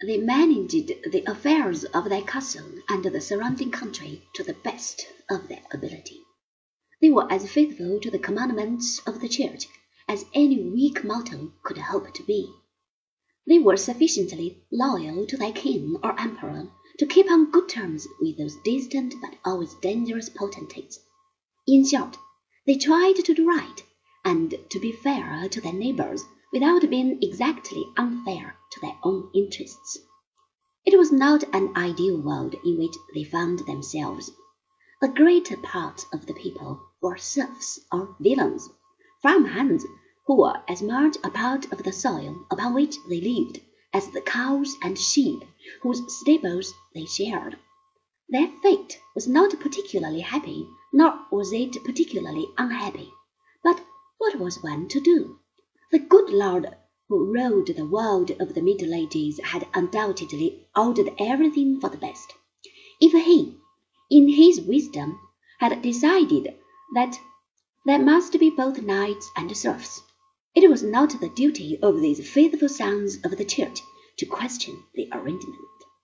They managed the affairs of their castle and the surrounding country to the best of their ability. They were as faithful to the commandments of the Church as any weak mortal could hope to be. They were sufficiently loyal to their king or emperor to keep on good terms with those distant but always dangerous potentates. In short, they tried to do right and to be fair to their neighbors without being exactly unfair to their own interests. It was not an ideal world in which they found themselves. The greater part of the people were serfs or villains, farmhands who were as much a part of the soil upon which they lived as the cows and sheep whose stables they shared. Their fate was not particularly happy, nor was it particularly unhappy. But what was one to do? The good Lord who ruled the world of the Middle Ages had undoubtedly ordered everything for the best. If he, in his wisdom, had decided that there must be both knights and serfs, it was not the duty of these faithful sons of the Church to question the arrangement.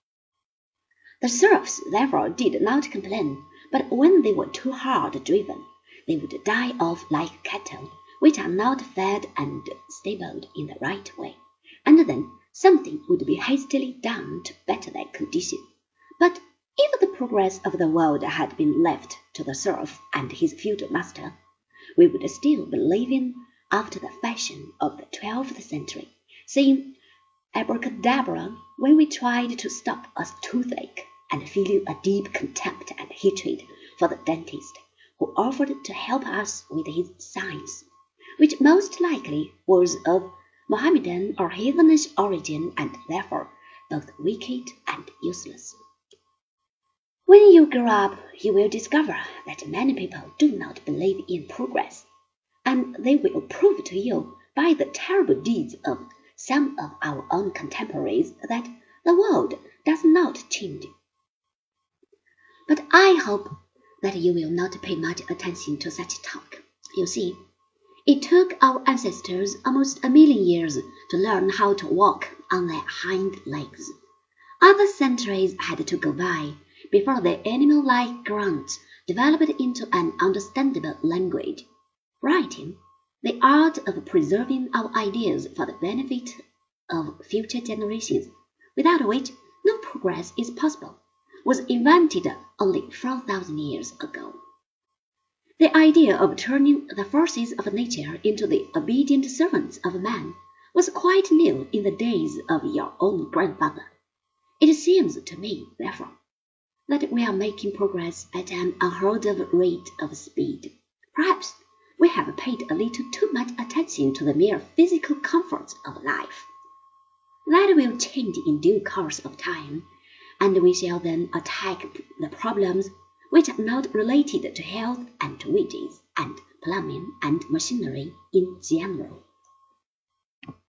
The serfs therefore did not complain, but when they were too hard driven, they would die off like cattle which are not fed and stabled in the right way, and then something would be hastily done to better their condition. But if the progress of the world had been left to the serf and his feudal master, we would still be living after the fashion of the 12th century, saying abracadabra when we tried to stop a toothache, and feeling a deep contempt and hatred for the dentist who offered to help us with his science, which most likely was of Mohammedan or heathenish origin and therefore both wicked and useless. When you grow up, you will discover that many people do not believe in progress, and they will prove to you by the terrible deeds of some of our own contemporaries that the world does not change. But I hope that you will not pay much attention to such talk. You see, it took our ancestors almost a million years to learn how to walk on their hind legs. Other centuries had to go by before their animal-like grunts developed into an understandable language. Writing, the art of preserving our ideas for the benefit of future generations, without which no progress is possible, was invented only 4,000 years ago. The idea of turning the forces of nature into the obedient servants of man was quite new in the days of your own grandfather. It seems to me, therefore, that we are making progress at an unheard of rate of speed. Perhaps we have paid a little too much attention to the mere physical comforts of life. That will change in due course of time, and we shall then attack the problems which are not related to health and to wages and plumbing and machinery in general.